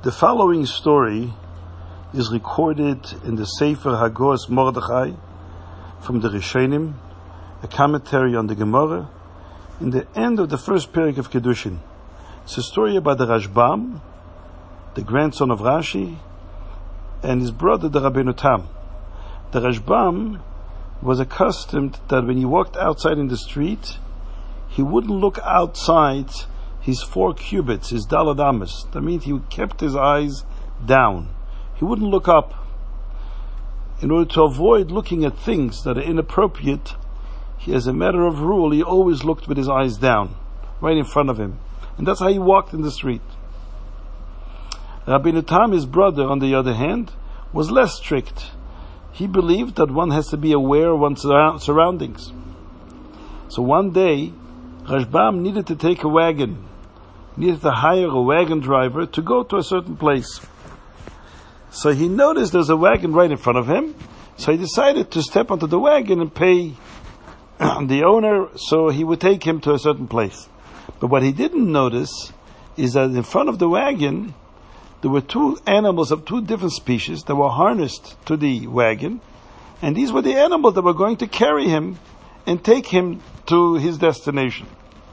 The following story is recorded in the Sefer Hagos Mordechai from the Rishonim, a commentary on the Gemara, in the end of the first period of Kedushin. It's a story about the Rashbam, the grandson of Rashi, and his brother, the Rabbeinu Tam. The Rashbam was accustomed that when he walked outside in the street, he wouldn't look outside his 4 cubits, his dalad amas. That means he kept his eyes down. He wouldn't look up. In order to avoid looking at things that are inappropriate, as a matter of rule, he always looked with his eyes down, right in front of him. And that's how he walked in the street. Rabbeinu Tam, his brother, on the other hand, was less strict. He believed that one has to be aware of one's surroundings. So one day, Rashbam needed to take a wagon. He needed to hire a wagon driver to go to a certain place. So he noticed there's a wagon right in front of him. So he decided to step onto the wagon and pay the owner so he would take him to a certain place. But what he didn't notice is that in front of the wagon, there were 2 animals of 2 different species that were harnessed to the wagon. And these were the animals that were going to carry him and take him to his destination.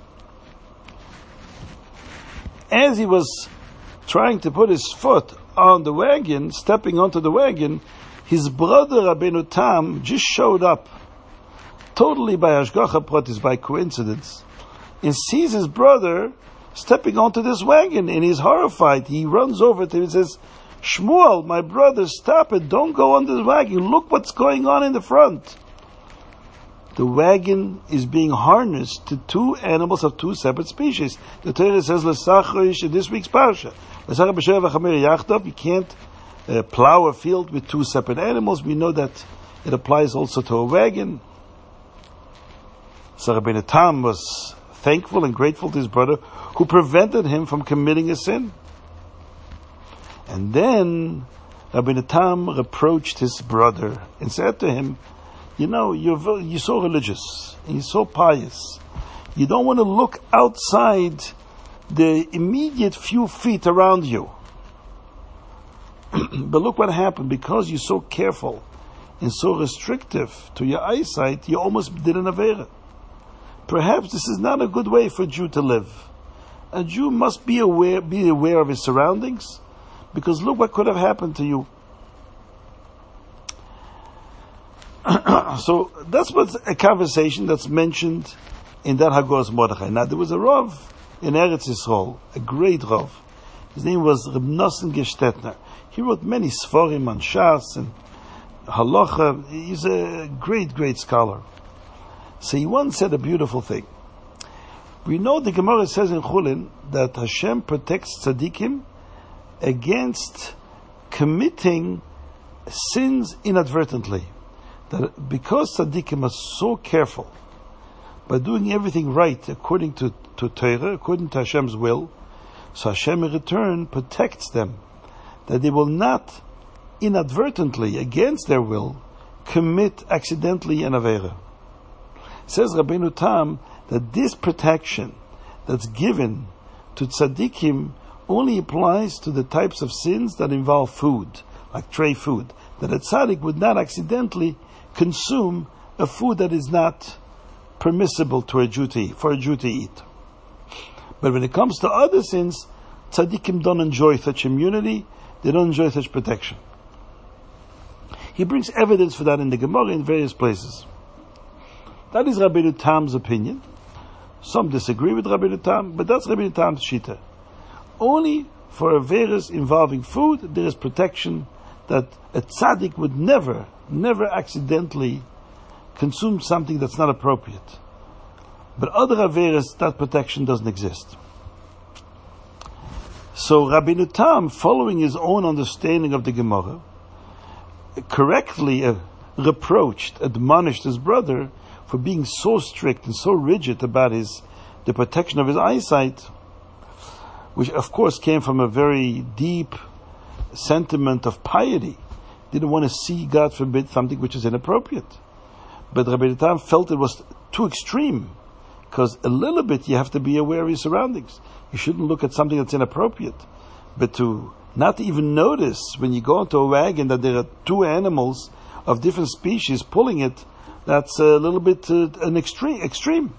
As he was trying to put his foot on the wagon, stepping onto the wagon, his brother Rabbeinu Tam just showed up, totally by Hashgacha Pratis, by coincidence, and sees his brother stepping onto this wagon, and he's horrified. He runs over to him and says, "Shmuel, my brother, stop it, don't go on this wagon, look what's going on in the front." The wagon is being harnessed to 2 animals of 2 separate species. The Torah says, "L'sachrish," in this week's parsha, you can't plow a field with 2 separate animals. We know that it applies also to a wagon. So Rabbeinu Tam was thankful and grateful to his brother who prevented him from committing a sin. And then Rabbeinu Tam reproached his brother and said to him, you're so religious and you're so pious. You don't want to look outside the immediate few feet around you. But look what happened. Because you're so careful and so restrictive to your eyesight, you almost did an avera. Perhaps this is not a good way for a Jew to live. A Jew must be aware of his surroundings, because look what could have happened to you. So that's what's a conversation that's mentioned in that Hagos Mordechai. Now there was a Rav in Eretz Yisrael, a great Rav. His name was Reb Nosson Gestetner. He wrote many Sforim on Shas and Halacha. He's a great, great scholar. So he once said a beautiful thing. We know the Gemara says in Chulin that Hashem protects tzaddikim against committing sins inadvertently. That because tzaddikim are so careful by doing everything right according to Torah, according to Hashem's will, so Hashem in return protects them, that they will not inadvertently, against their will, commit accidentally an avera. Says Rabbeinu Tam that this protection that's given to tzaddikim only applies to the types of sins that involve food, like tray food, that a tzaddik would not accidentally consume a food that is not permissible for a Jew to eat. But when it comes to other sins, tzaddikim don't enjoy such immunity, they don't enjoy such protection. He brings evidence for that in the Gemara in various places. That is Rabbeinu Tam's opinion. Some disagree with Rabbeinu Tam, but that's Rabbeinu Tam's shita. Only for averas involving food, there is protection that a tzaddik would never accidentally consume something that's not appropriate. But other averas, that protection doesn't exist. So Rabbeinu Tam, following his own understanding of the Gemara, correctly admonished his brother for being so strict and so rigid about the protection of his eyesight, which of course came from a very deep sentiment of piety. Didn't want to see, God forbid, something which is inappropriate. But Rabbeinu Tam felt it was too extreme, because a little bit you have to be aware of your surroundings. You shouldn't look at something that's inappropriate. But to not to even notice when you go into a wagon that there are two animals of different species pulling it, that's a little bit an extreme.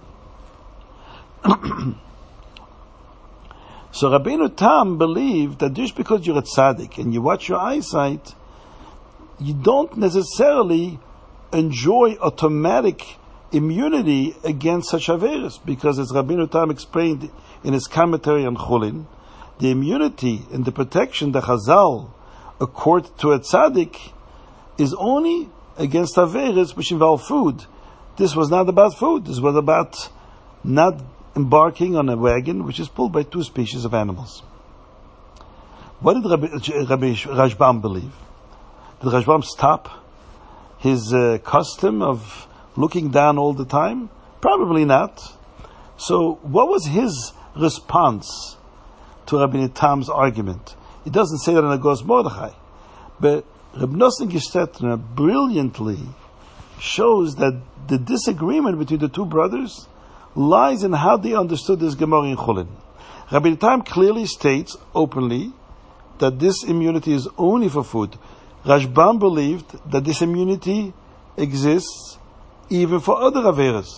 So Rabbeinu Tam believed that just because you're a tzaddik and you watch your eyesight, you don't necessarily enjoy automatic immunity against such averos, because as Rabbeinu Tam explained in his commentary on Chulin, the immunity and the protection that Chazal accord to a tzaddik is only against averos which involve food. This was not about food. This was about not embarking on a wagon which is pulled by two species of animals. What did Rabbi Rashbam believe? Did Rashbam stop his custom of looking down all the time? Probably not. So what was his response to Rabbi Tam's argument? It doesn't say that in Agos Mordechai, but Reb Nosson Gestetner brilliantly shows that the disagreement between the two brothers lies in how they understood this Gemara in Chulin. Rabbi Tam clearly states openly that this immunity is only for food. Rashbam believed that this immunity exists even for other averas.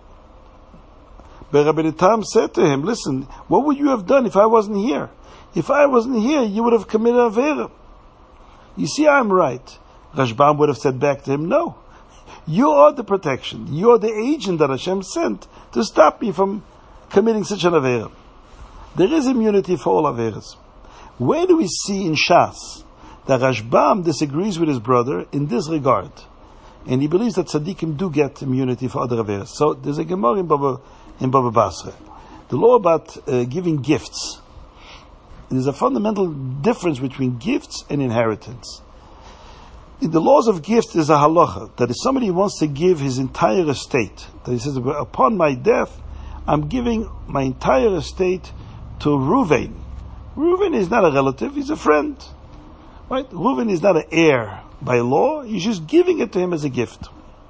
But Rabbi Tam said to him, listen, what would you have done if I wasn't here? If I wasn't here, you would have committed avera. You see, I'm right. Rashbam would have said back to him, no. You are the protection. You are the agent that Hashem sent to stop me from committing such an avera. There is immunity for all averas. Where do we see in Shas that Rashbam disagrees with his brother in this regard? And he believes that tzaddikim do get immunity for other averas. So there's a Gemara in Baba Basra. The law about giving gifts. There's a fundamental difference between gifts and inheritance. In the laws of gifts, there's a halacha that if somebody wants to give his entire estate, that he says, upon my death, I'm giving my entire estate to Reuven. Reuven is not a relative, he's a friend. Right? Reuven is not an heir by law, he's just giving it to him as a gift.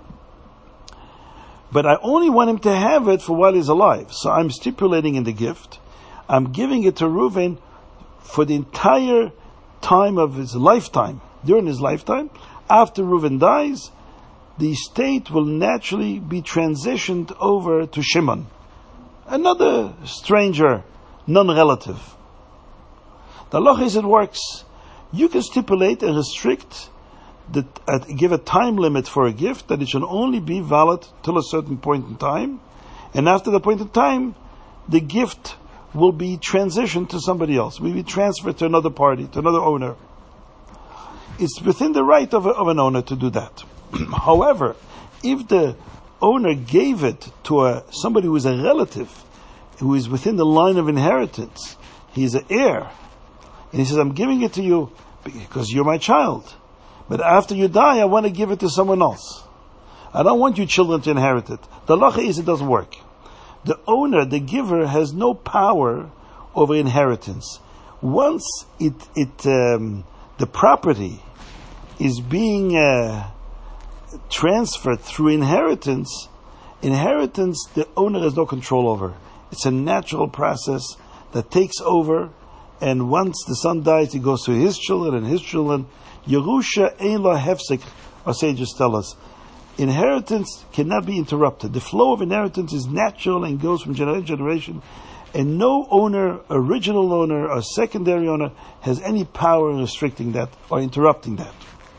But I only want him to have it for while he's alive. So I'm stipulating in the gift, I'm giving it to Reuven for the entire time of his lifetime. During his lifetime, after Reuven dies, the estate will naturally be transitioned over to Shimon, another stranger, non-relative. The halacha is it works. You can stipulate and restrict, give a time limit for a gift that it should only be valid till a certain point in time, and after the point in time, the gift will be transitioned to somebody else, will be transferred to another party, to another owner. It's within the right of an owner to do that. However, if the owner gave it to somebody who is a relative, who is within the line of inheritance, he is an heir, and he says, I'm giving it to you because you're my child, but after you die, I want to give it to someone else. I don't want you children to inherit it. The halacha is it doesn't work. The owner, the giver, has no power over inheritance. Once the property is being transferred through inheritance, the owner has no control over. It's a natural process that takes over, and once the son dies, he goes to his children and his children. Yerusha ein la hefsek, our sages tell us. Inheritance cannot be interrupted. The flow of inheritance is natural and goes from generation to generation, and no owner, original owner or secondary owner, has any power in restricting that or interrupting that.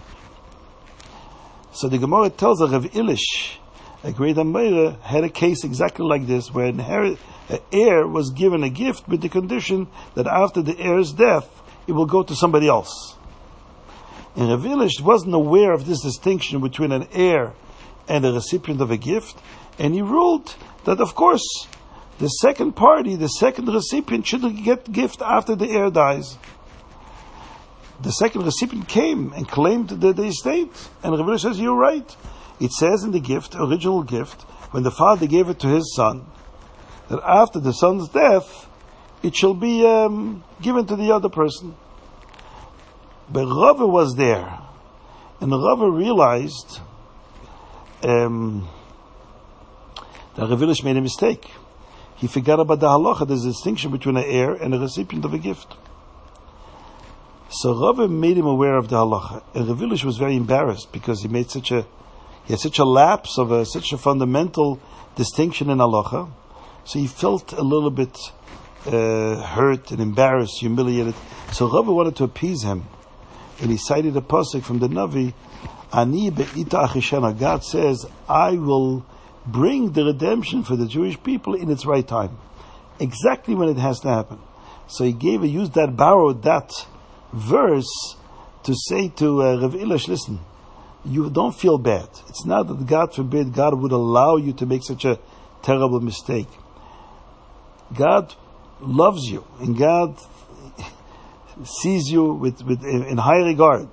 So the Gemara tells us Rav Ilish, a great Ameira, had a case exactly like this, where an heir was given a gift with the condition that after the heir's death, it will go to somebody else. And Rav Ilish wasn't aware of this distinction between an heir and a recipient of a gift, and he ruled that, of course, the second party, the second recipient, should get gift after the heir dies. The second recipient came and claimed the estate, and Rav Ilish says, you're right. It says in the gift, original gift, when the father gave it to his son, that after the son's death, it shall be given to the other person. But Rava was there, and Rava realized that Rav Ilish made a mistake. He forgot about the halacha. There's a distinction between an heir and a recipient of a gift. So Rava made him aware of the halacha. And Rav Elish was very embarrassed because he had such a lapse of such a fundamental distinction in halacha. So he felt a little bit hurt and embarrassed, humiliated. So Rava wanted to appease him, and he cited a pasuk from the Navi. Ani be'ita achishena. God says, "I will bring the redemption for the Jewish people in its right time, exactly when it has to happen." So he borrowed that verse to say to Rav Elish, listen, you don't feel bad. It's not that, God forbid, God would allow you to make such a terrible mistake. God loves you, and God sees you in high regard.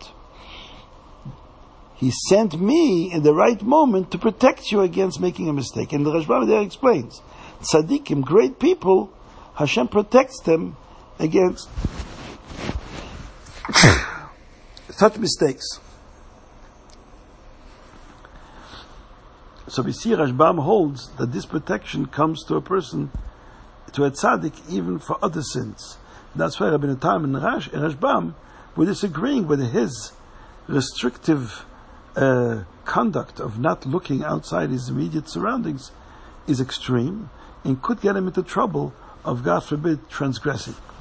He sent me in the right moment to protect you against making a mistake. And the Rashbam there explains, tzaddikim, great people, Hashem protects them against such mistakes. So we see Rashbam holds that this protection comes to a person, to a tzaddik, even for other sins. And that's why Rabbeinu Tam and Rashbam were disagreeing whether his restrictive conduct of not looking outside his immediate surroundings is extreme and could get him into trouble of, God forbid, transgressing.